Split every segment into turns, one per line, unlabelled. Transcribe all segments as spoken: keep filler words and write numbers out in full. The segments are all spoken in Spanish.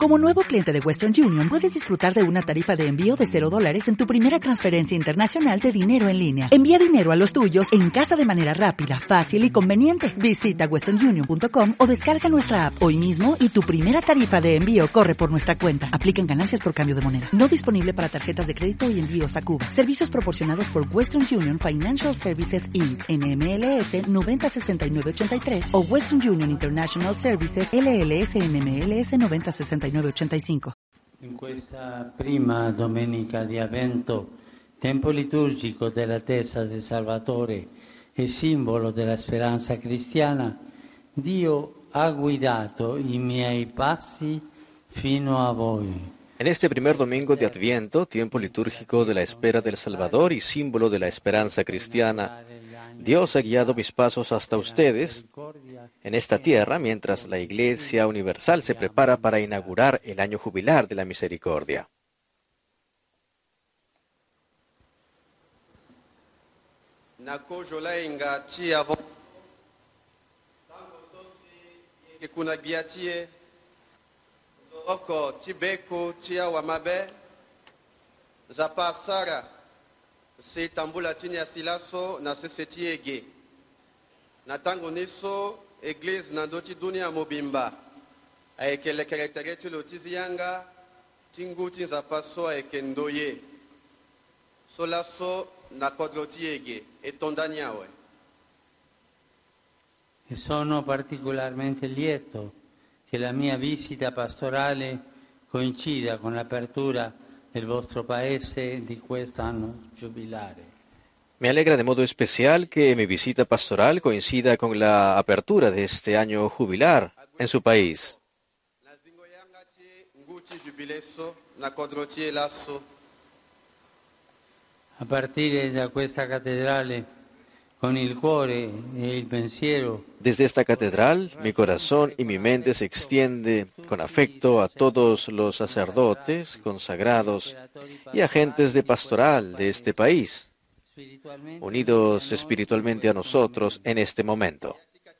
Como nuevo cliente de Western Union, puedes disfrutar de una tarifa de envío de cero dólares en tu primera transferencia internacional de dinero en línea. Envía dinero a los tuyos en casa de manera rápida, fácil y conveniente. Visita western union punto com o descarga nuestra app hoy mismo y tu primera tarifa de envío corre por nuestra cuenta. Aplican ganancias por cambio de moneda. No disponible para tarjetas de crédito y envíos a Cuba. Servicios proporcionados por Western Union Financial Services incorporated. N M L S noventa sesenta y nueve ochenta y tres o Western Union International Services L L S N M L S noventa sesenta y nueve ochenta y cinco.
In questa prima domenica di Avvento, tempo liturgico della testa del Salvatore e simbolo della speranza cristiana, Dio ha guidato i miei passi fino a voi.
En este primer domingo de Adviento, tiempo litúrgico de la espera del Salvador y símbolo de la esperanza cristiana, Dios ha guiado mis pasos hasta ustedes en esta tierra mientras la Iglesia Universal se prepara para inaugurar el año jubilar de la misericordia.
Se tambula tinya silaso na seseti ege. Na tango niso Église na ndoti dunia mobimba. Aekele karaktereti lotizi yanga tingu tinza paso aeke ndoye. Solaso na kodroti ege e tondaniawe.
E sono particolarmente lieto che la mia visita pastorale coincida con l'apertura del vostro paese di quest'anno giubilare.
Me alegra de modo especial que mi visita pastoral coincida con la apertura de este año jubilar en su país.
A partire da questa cattedrale, con il cuore e il pensiero,
Desde esta catedral, mi corazón y mi mente se extiende con afecto a todos los sacerdotes, consagrados y agentes de pastoral de este país, unidos espiritualmente a nosotros en este momento.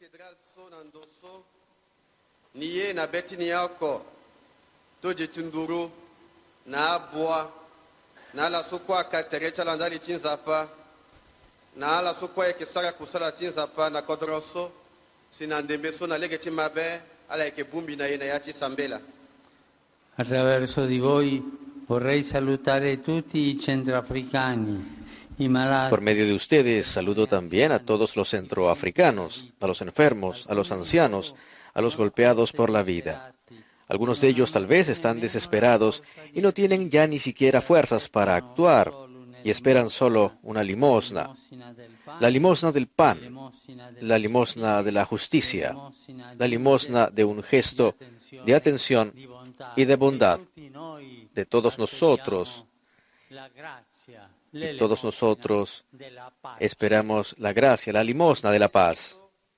Na ala sokwa eke sara kusala tinza pa na kodroso sinandembe so na legeti mabe ala eke bumbi na yena yati sambela.
Attraverso di voi vorrei salutare tutti i centroafricani, i malati.
Por medio de ustedes saludo también a todos los centroafricanos, a los enfermos, a los ancianos, a los golpeados por la vida. Algunos de ellos tal vez están desesperados y no tienen ya ni siquiera fuerzas para actuar y esperan solo una limosna, la limosna del pan, la limosna de la justicia, la limosna de un gesto de atención y de bondad de todos nosotros. Y todos nosotros esperamos la gracia, la limosna de la paz.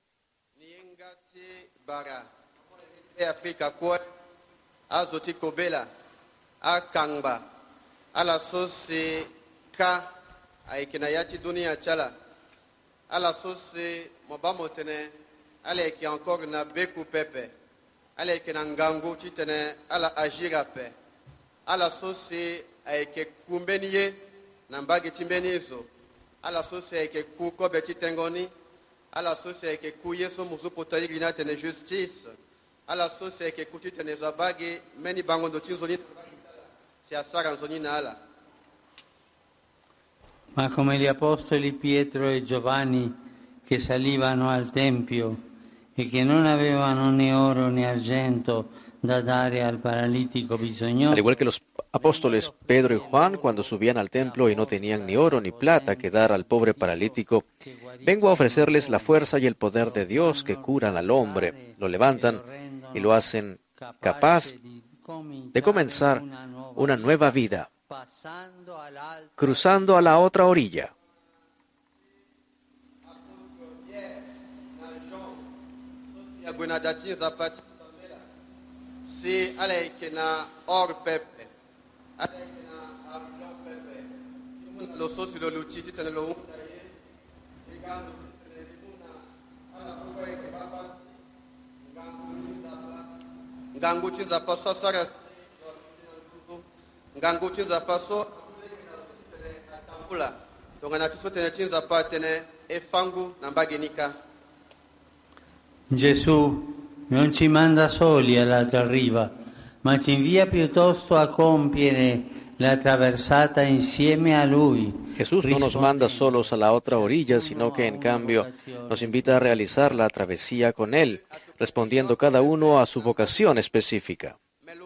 Ka aikina yati dunia chala ala sose mobamo tene ala ki encore na beku pepe ala ki na ngangu titene ala agira pe ala sose aike kumbeniye na mbagi timbenizo ala sose aike ku kobe titengoni ala sose aike ku yeso muzupo tayiri na tene justice ala sose aike ku titene zabagi meni bangondo tinzoni si asara nzoni na ala.
Ma come gli apostoli Pietro e Giovanni che salivano al Tempio e che non avevano né oro né argento da dare al paralitico bisognoso.
Al igual que los apóstoles Pedro y Juan cuando subían al templo y no tenían ni oro ni plata que dar al pobre paralítico, vengo a ofrecerles la fuerza y el poder de Dios que curan al hombre, lo levantan y lo hacen capaz de comenzar una nueva vida, cruzando a la otra orilla.
ngangu chinza paso sara ngangu chinza paso atambula tongana tiso tene chinza pa tene efangu nambagenika.
Gesù non ci manda soli all'altra riva, ma ci invia piuttosto a compiere la traversata insieme a Lui.
Jesús no nos manda solos a la otra orilla, sino que en cambio nos invita a realizar la travesía con Él, respondiendo cada uno a su vocación específica.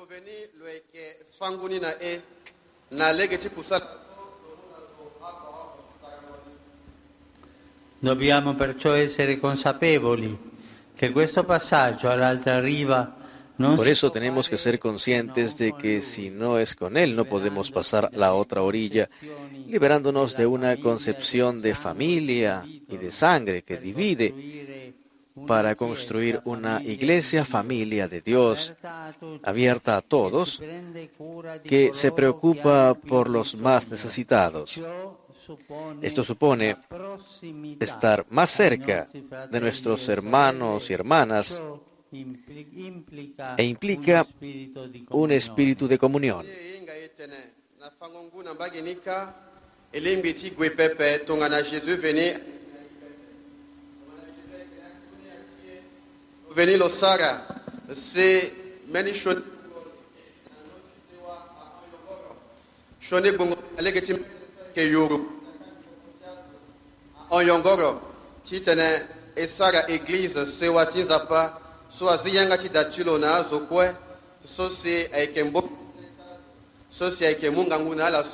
Dobbiamo perciò essere consapevoli que questo passaggio all'altra riva non
Por eso tenemos que ser conscientes de que si no es con Él no podemos pasar a la otra orilla, liberándonos de una concepción de familia y de sangre que divide, para construir una iglesia familia de Dios, abierta a todos, que se preocupa por los más necesitados. Esto supone estar más cerca de nuestros hermanos y hermanas e implica un espíritu de comunión.
Veni lo sara se meni shon shone bongo alegeti ke yuru on yongoro chitene e sara église se watinza pa so aziyanga chi dachilo na azokwe so se aikembo so se aikemunga nguna la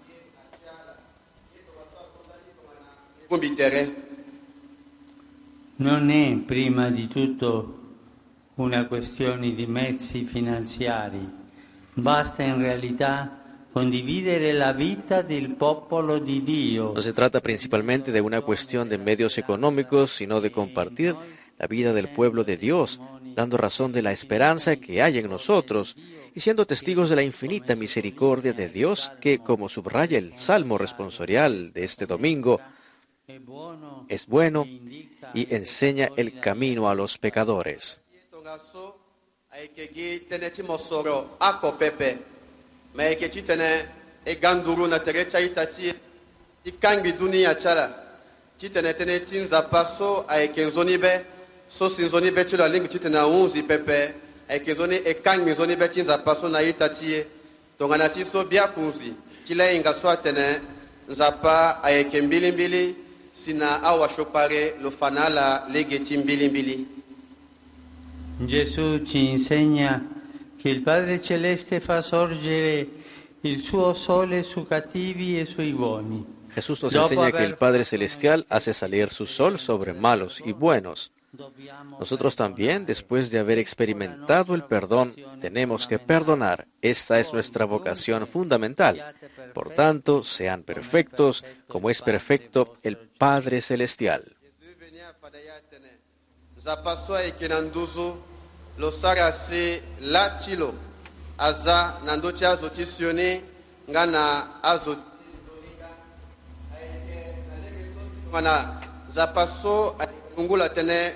kombitere.
Non è prima di tutto una questione di mezzi finanziari, basta in realtà condividere la vita del popolo di Dio.
No se trata principalmente de una cuestión de medios económicos, sino de compartir la vida del pueblo de Dios, dando razón de la esperanza que hay en nosotros y siendo testigos de la infinita misericordia de Dios que, como subraya el Salmo responsorial de este domingo, es bueno y enseña el camino a los pecadores.
Sina awa shopare lo fanala legeti mbili mbili.
Gesù ci insegna che il Padre Celeste fa sorgere il suo sole su cattivi e sui buoni.
Jesús nos enseña que el Padre Celestial hace salir su sol sobre malos y buenos. Nosotros también, después de haber experimentado el perdón, tenemos que perdonar. Esta es nuestra vocación fundamental. Por tanto, sean perfectos como es perfecto el Padre Celestial.
Ungula tene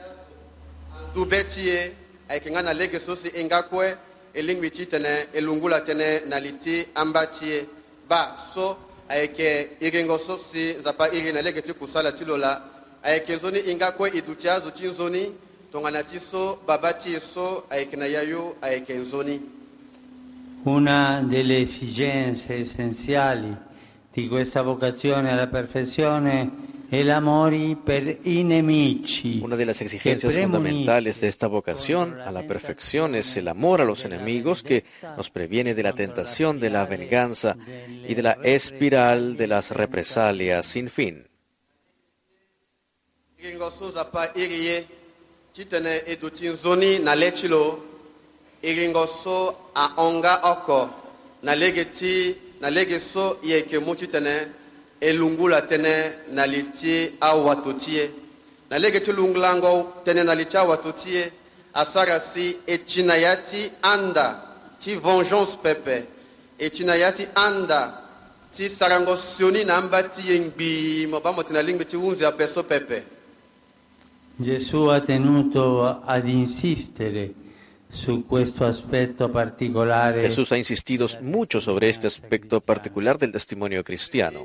dubetie ay kingana lege sosi engakwe elingwi tene elungula tene naliti ambatie ba so ay ke iringo sosi zapa irina lege tikusala tilola ay ke zoni engakwe idutia zo tinzoni tongana tiso babati so ay kinayayo ay ke zoni.
Una delle esigenze essenziali di questa vocazione alla perfezione el amor per i nemici.
Una de las exigencias fundamentales de esta vocación a la perfección es el amor a los enemigos que nos previene de la tentación de la venganza y de la espiral de las represalias sin fin.
Elungula tene naliti awatotie nalegeti lunglango tene naliti awatotie asarasi echinayati anda ti vengeance pepe echinayati anda ti sarango sioni nambati engbi mo bamo tena lingbe ti unzi a peso pepe.
Gesù ha tenuto ad insistere su questo aspetto particolare.
Jesús ha insistido mucho sobre este aspecto particular del testimonio cristiano.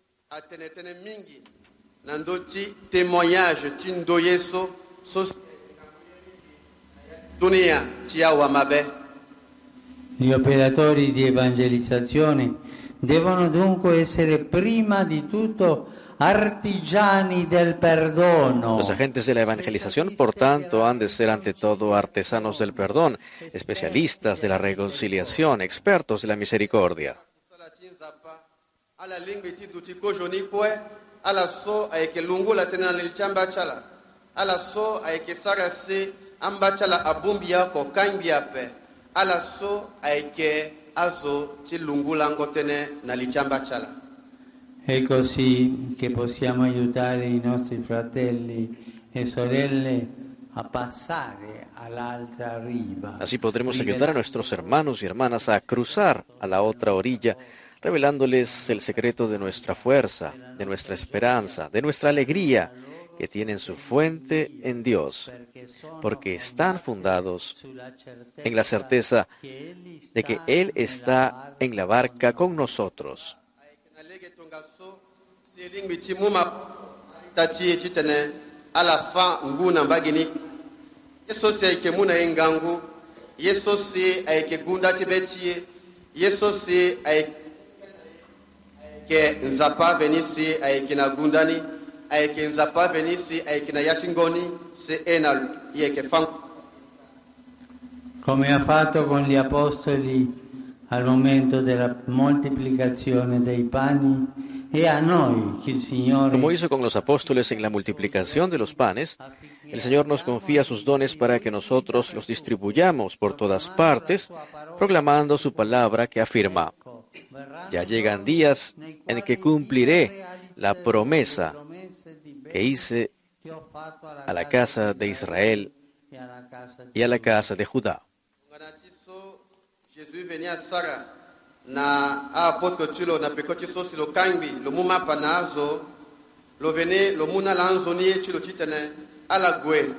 Gli operatori di evangelizzazione devono dunque essere prima di tutto artigiani del perdono.
Los agentes de la evangelización, por tanto, han de ser ante todo artesanos del perdón, especialistas de la reconciliación, expertos de la misericordia.
È così che possiamo aiutare i nostri fratelli e sorelle a passare all'altra riva.
Así podremos ayudar a nuestros hermanos y hermanas a cruzar a la otra orilla, revelándoles el secreto de nuestra fuerza, de nuestra esperanza, de nuestra alegría, que tienen su fuente en Dios, porque están fundados en la certeza de que Él está en la barca con nosotros.
Come ha fatto con gli apostoli al momento della moltiplicazione dei pani, e a noi che il Signore,
Como hizo con los apóstoles en la multiplicación de los panes, el Señor nos confía sus dones para que nosotros los distribuyamos por todas partes, proclamando su palabra que afirma: ya llegan días en que cumpliré la promesa que hice a la casa de Israel y a la casa de Judá.
Na apôtre tulo na pekoti sosi lo kangbi lo muma panazo lo vene lo muna lanzoni tulo chitene ala gwe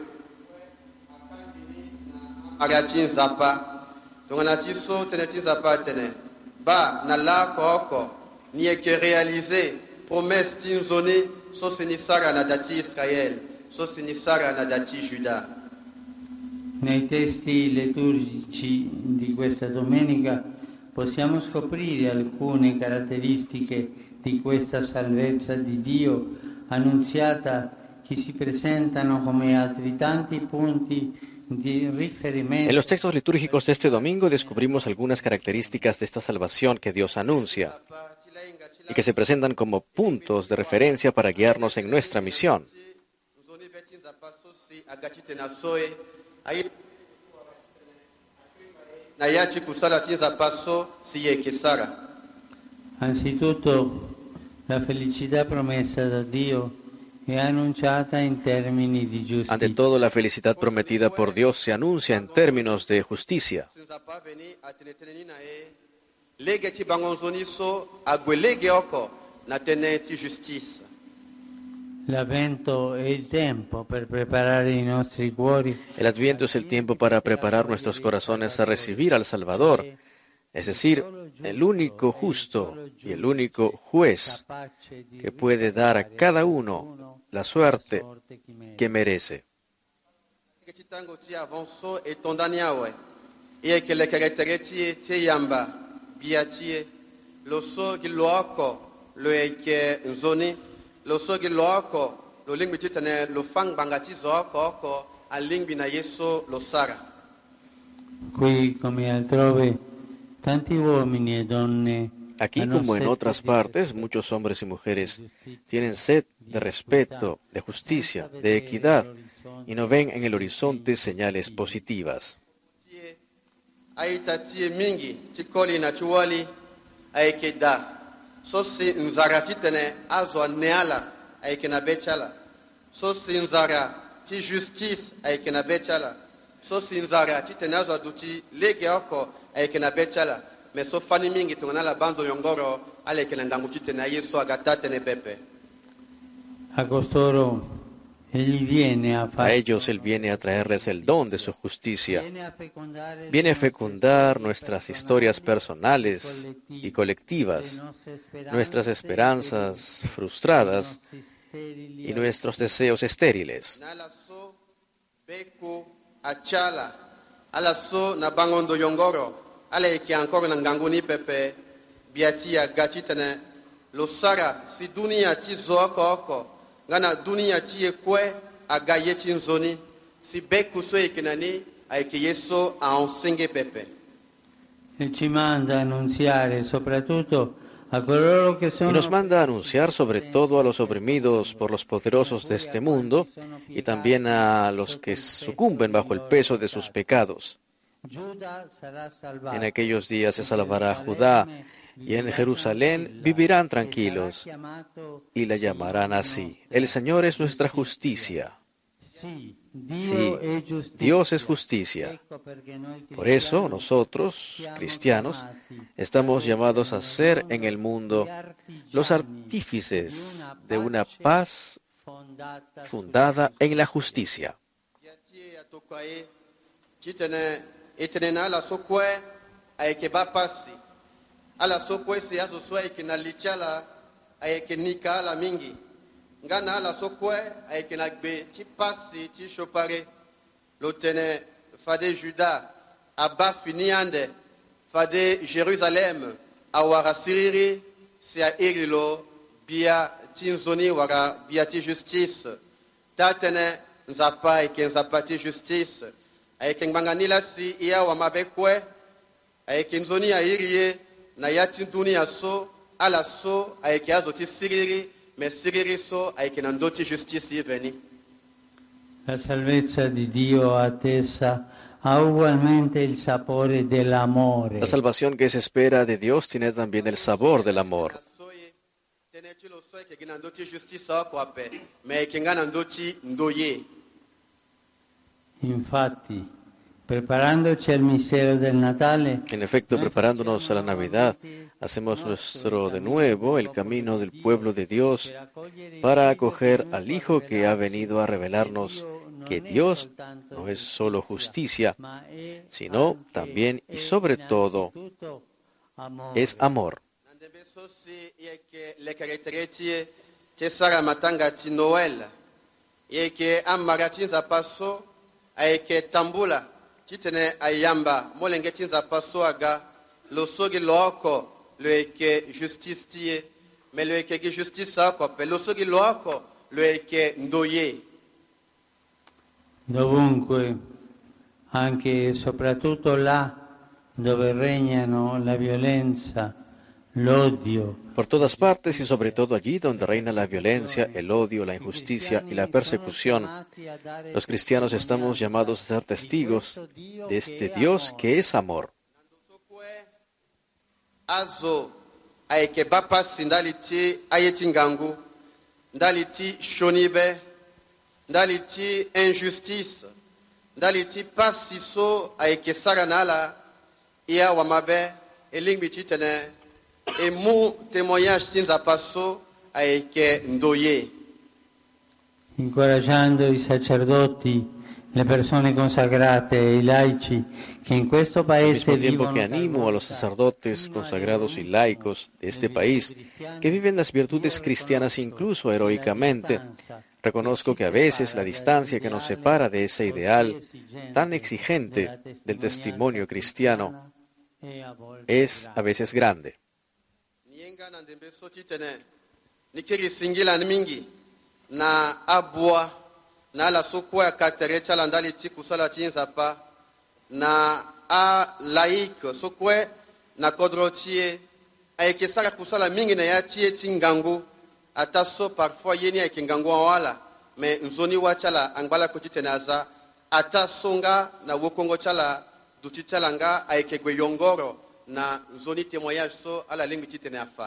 aga chin zapa tongana tiso tene tin zapa tene ba na la koko ni e que réaliser promesse tin zone so sinisara na dati Israël so sinisara na dati Juda.
Nei testi liturgici di questa domenica possiamo scoprire alcune caratteristiche di questa salvezza di Dio annunziata che si presentano come altri tanti punti di riferimento.
En los textos litúrgicos de este domingo descubrimos algunas características de esta salvación que Dios anuncia y que se presentan como puntos de referencia para guiarnos en nuestra misión.
Anzitutto la felicità promessa da Dio è annunciata in termini di giustizia.
Ante todo, la felicidad prometida por Dios se anuncia en términos de justicia.
L'Avvento è il tempo per preparare i nostri cuori.
El Adviento es el tiempo para preparar nuestros corazones a recibir al Salvador, es decir, el único justo y el único juez que puede dar a cada uno la suerte que merece.
Lo sogi lo oko lo lingbi titane lo fang bangati zoko oko al lingbi na yeso lo sara.
Qui come altrove tanti uomini e donne.
Aquí, como en otras partes, muchos hombres y mujeres tienen sed de respeto, de justicia, de equidad, y no ven en el horizonte señales positivas.
Aitatie mingi tikoli na chuwali aikeda. Sosi nzara titene azo neala aikena bechala. Sosi nzara ti justice aikena bechala. Sosi nzara titene azo duti lege oko aikena bechala. Me so fani mingi tungana la banzo yongoro ale kena ndangu titene yeso agatate ne pepe.
A costoro Egli viene a,
A ellos Él viene a traerles el don de su justicia. Viene a fecundar nuestras historias personales y colectivas, nuestras esperanzas frustradas y nuestros deseos estériles.
Nalaso beku achala alaso na bangondo yongoro ale ki ancora na nganguni pepe biatia gachitene lo sara si dunia ti zoko oko ngana dunia ti ekwe agaye ti nzoni si beku so ekenani aike yeso a onsenge pepe
e ci manda a annunziare soprattutto a coloro che
Y
sono
nos manda a anunciar sobre todo a los oprimidos por los poderosos de este mundo y también a los que sucumben bajo el peso de sus pecados.
Giuda sarà salvato.
En aquellos días se salvará Judá y en Jerusalén vivirán tranquilos y la llamarán así. El Señor es nuestra justicia.
Sì,
Sí, Dios es justicia. Por eso nosotros, cristianos, estamos llamados a ser en el mundo los artífices de una paz fundada en la justicia.
Ngana la sokwe ayeke na gbe ti pasi ti chopare lo tene fade Juda aba finiande fade Jerusalem awara siriri si a iri lo bia ti nzoni wara bia ti justice ta tene nzapa ayeke nzapa ti justice ayeke ngbanganila si ia wa mabe kue ayeke nzoni airi ye na ya ti dunia so ala so ayeke azo ti siriri me siririso ayeke na ndö ti justice ye veni.
La salvezza di Dio attesa ha ugualmente il sapore dell'amore.
La salvación que se espera de Dios tiene también el sabor del amor.
Tene ti lo so ayeke na ndö ti justice oko ape me ayeke nga na ndö ti ndö ye.
Infatti, preparandoci al mistero del Natale,
En efecto, preparándonos a la Navidad, hacemos nuestro de nuevo el camino del pueblo de Dios para acoger al Hijo que ha venido a revelarnos que Dios no es solo justicia, sino también y sobre todo es amor.
Nandembe so si yeke lekere ti ye ti sara matanga ti Noël yeke amara ti nzapa so ayeke tambula ti tene ayamba molenge ti nzapa so aga lo so gi lo oko lo yeke justice ti ye me lo yeke gi justice oko ape lo so gi lo oko lo yeke ndo ye.
dovunque, anche e soprattutto là dove regnano la violenza, l'odio,
Por todas partes y sobre todo allí donde reina la violencia, el odio, la injusticia y la persecución, los cristianos estamos llamados a ser testigos de este Dios que es amor.
Azo ayeke ba pasi ndali ti aye ti ngangu ndali ti shonibe ndali ti injustice ndali ti pasi so ayeke sara na ala ia wa mabe e lingbi ti tene e mu témoignage ti nzapa so ayeke ndo ye.
incoraggiando i sacerdoti, le persone consacrate e i laici che in questo
Al
paese
mismo tiempo
vivono
que animo a los sacerdotes consagrados y laicos de este país que viven las virtudes cristianas incluso heroicamente, reconozco que a veces la distancia que nos separa de ese ideal tan exigente del testimonio cristiano es a veces grande.
Nienga na ndembe so ti tene ni kiri singila ni mingi na abua na ala so kue akatere ti ala ndali ti kusala ti nzapa na a laïque so kue na kodro ti ye ayeke sara kusala mingi na ya ti ye ti ngangu ata so parfois ye ni ayeke ngangu awala me nzoni wa ti ala angbala kue ti tene aza ata so nga na wokongo ti ala duti ti ala nga ayeke gue yongoro na nzoni témoignage so ala lingbi ti tene afa.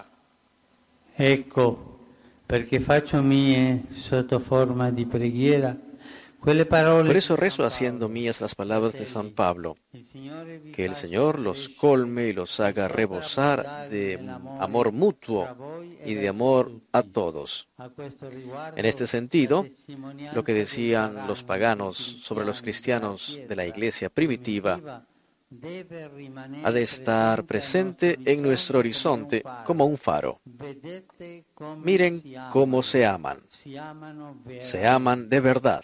Ecco perché faccio mie sotto forma di preghiera
Por eso rezo haciendo mías las palabras de San Pablo, que el Señor los colme y los haga rebosar de amor mutuo y de amor a todos. En este sentido, lo que decían los paganos sobre los cristianos de la iglesia primitiva ha de estar presente en nuestro horizonte como un faro. Miren cómo se aman. Se aman de verdad.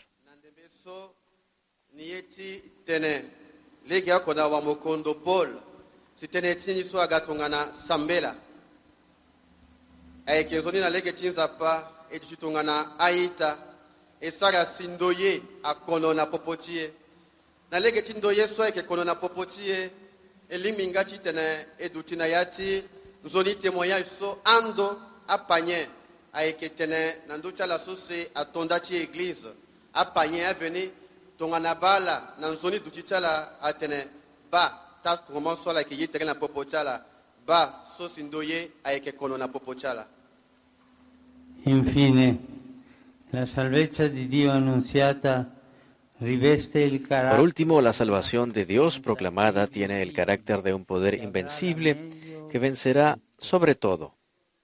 Na lege chindo yeso eke kono na popotie eliminga chitene edutina yati nzoni temoya iso ando apanye aeke tene nanducha la sose atonda chi église apanye aveni tongana bala na nzoni duchichala atene ba ta comment so la ke yitere na popochala ba so sindoye aeke kono na popochala.
Infine, la salvezza di Dio annunziata
Por último, la salvación de Dios proclamada tiene el carácter de un poder invencible que vencerá sobre todo.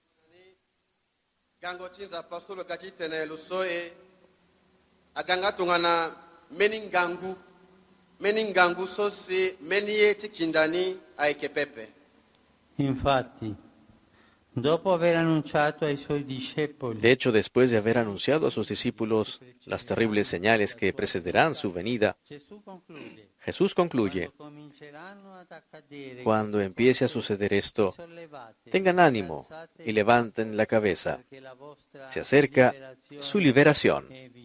Infatti, dopo aver annunciato ai suoi discepoli,
De hecho, después de haber anunciado a sus discípulos las terribles señales que precederán su venida, Jesús concluye: cuando empiece a suceder esto, tengan ánimo y levanten la cabeza. Se acerca su liberación.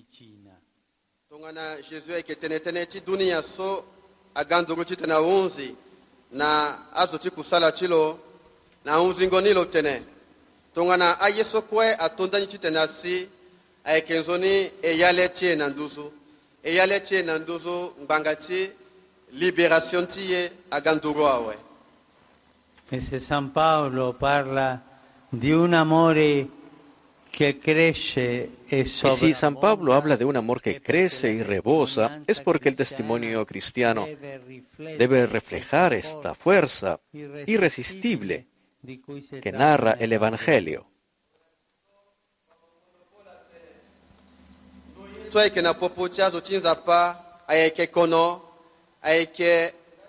Na unzingo lo tene tongana ayeso kwe atonda nchi tena si aikenzoni eyale tie na nduzu eyale tie na nduzu mbangati liberation tie aganduro awe.
E se San Paolo parla di un amore que crece e
Y si San Pablo habla de un amor que crece y rebosa, es porque el testimonio cristiano debe reflejar esta fuerza irresistible que narra el Evangelio.
Soy que na popocha zo chinza pa ayeke kono ayeke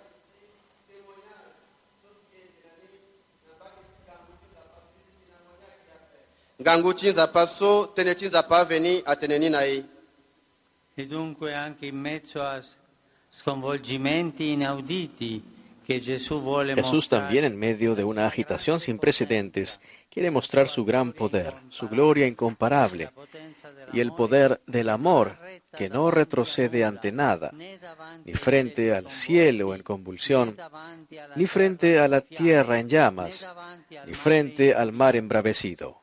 gangu chinza pa so tene chinza pa veni ateneni nai.
E dunque anche in mezzo a sconvolgimenti inauditi que Jesús vuole
Jesús también, en medio de una agitación sin precedentes, quiere mostrar su gran poder, su gloria incomparable y el poder del amor que no retrocede ante nada, ni frente al cielo en convulsión, ni frente a la tierra en llamas, ni frente al mar embravecido.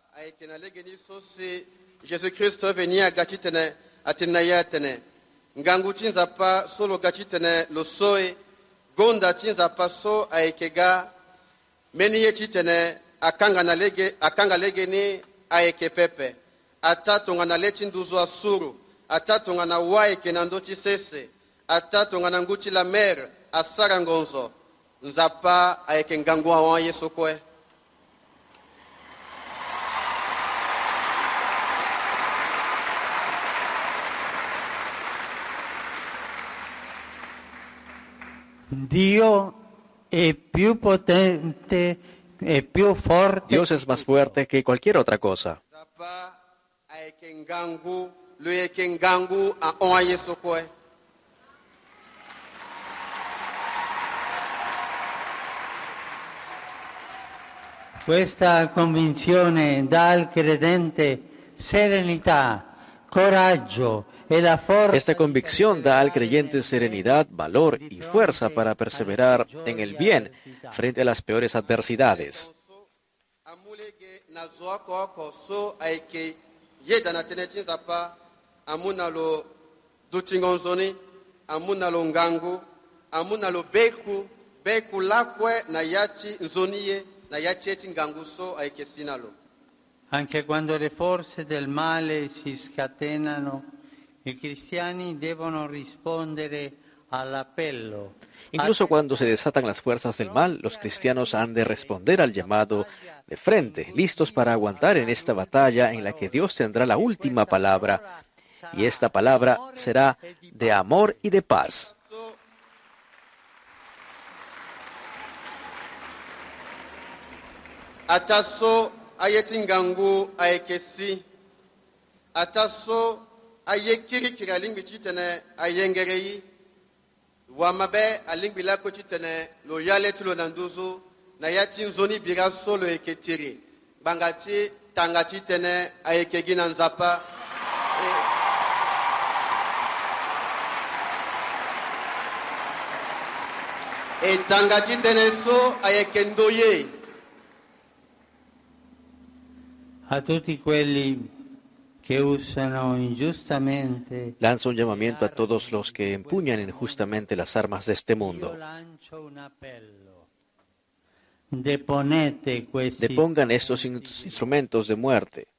Jesucristo venía gachitene atenayatene ngangu chinza pa solo gachitene lo soy gonda chinza paso aikega meni yechitene akanga na lege akanga lege ni aike pepe atatu ngana lechi nduzo asuru atatu ngana wae kenando chisese atatu ngana nguchi la mer asara ngonzo nzapa aike ngangu wa Yesu kwe.
Dio è più potente e più forte.
Dios es más fuerte que cualquier otra cosa.
Questa convinzione dà al credente serenità, coraggio e la forza.
Esta convicción da al creyente serenidad, valor y fuerza para perseverar en el bien frente a las peores adversidades.
Anche quando le forze del male si scatenano I cristiani devono rispondere all'appello.
Incluso cuando se desatan las fuerzas del mal, los cristianos han de responder al llamado de frente, listos para aguantar en esta batalla en la que Dios tendrá la última palabra, y esta palabra será de amor y de paz.
Ataso ayetingangu ayekesi. Ataso ayekiri alingbi chitene ayengereyi. Wamabe alingbi lako chitene lo yale tulo nanduzo na yatin zoni bira solo eketiri. Bangati tangati tene ayekegi nanzapa. E, e tangati tene so ayekendoye.
A tutti quelli que usano injustamente.
Lanza un llamamiento a todos los que empuñan injustamente las armas de este mundo.
Deponete questi.
Depongan estos in- instrumentos de muerte.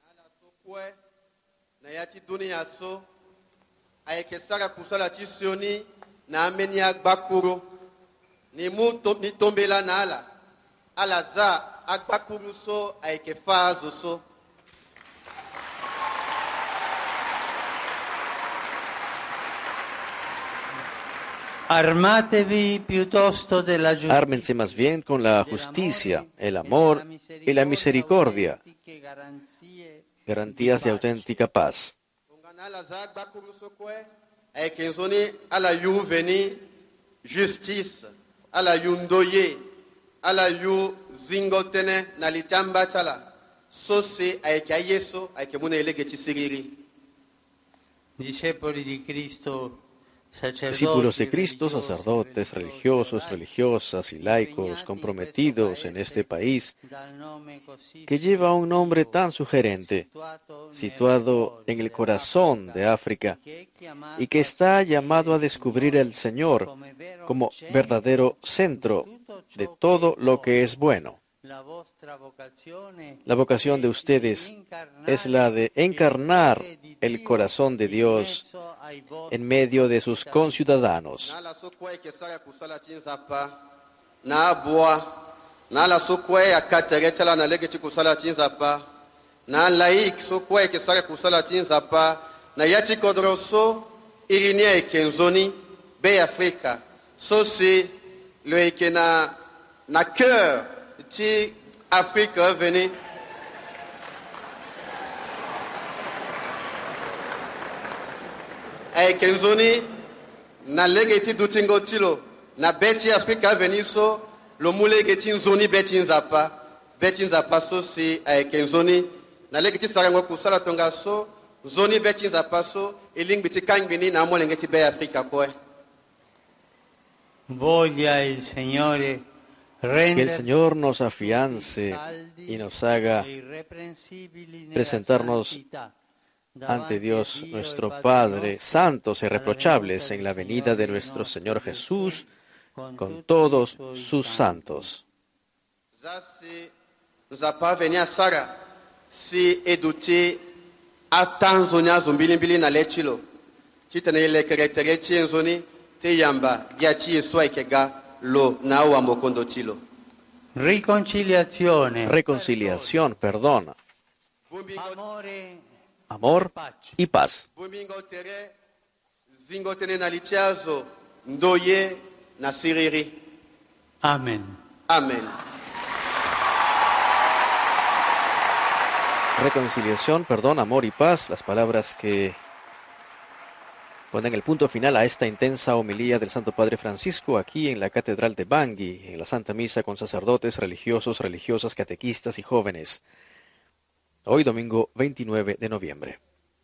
Armatevi piuttosto della giustizia.
Ármense más bien con la justicia, el amor y la misericordia, garantías de auténtica paz.
Justice, ala yundoye, ala yu zingotene na litamba chala, sose aike ayeso aike muna elege chisiriri.
Discepoli di Cristo.
Discípulos de Cristo, sacerdotes, religiosos, religiosas y laicos comprometidos en este país, que lleva un nombre tan sugerente, situado en el corazón de África, y que está llamado a descubrir al Señor como verdadero centro de todo lo que es bueno. La vocación de ustedes es la de encarnar el corazón de Dios en medio de sus conciudadanos.
Ti Afrique venez. Ay kenzoni na legeti dutingo tilo na beti Africa veniso lo mulege tinzoni beti nzapa beti nzapa so si ay kenzoni na legeti sarango kusala tonga so zoni beti nzapa so eling biti kangini na molenge ti be Africa ko.
Voglia il Signore
Que el Señor nos afiance y nos haga presentarnos ante Dios nuestro Padre, santos e irreprochables en la venida de nuestro Señor Jesús con todos sus santos.
Si eduti atanzonya zumbilimbili na lechilo chitene ile keretere chienzoni te yamba giachi eswaikega lo nawa mokondo chilo.
Riconciliazione.
Reconciliación, perdón,
Amore.
amor y paz.
Bumingo tere zingo tene na lichazo ndoye na siriri.
Amen.
Amen.
Reconciliación, perdón, amor y paz, las palabras que ponen el punto final a esta intensa homilía del Santo Padre Francisco aquí en la Catedral de Bangui, en la Santa Misa con sacerdotes, religiosos, religiosas, catequistas y jóvenes. Hoy domingo veintinueve de noviembre.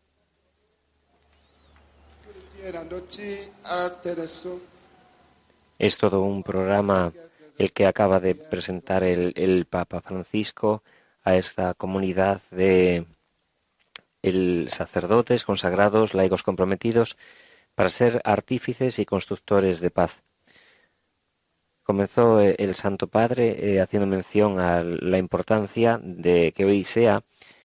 Es todo un programa el que acaba de presentar el, el Papa Francisco a esta comunidad de el sacerdotes, consagrados, laicos comprometidos para ser artífices y constructores de paz. Comenzó el Santo Padre eh, haciendo mención a la importancia de que hoy sea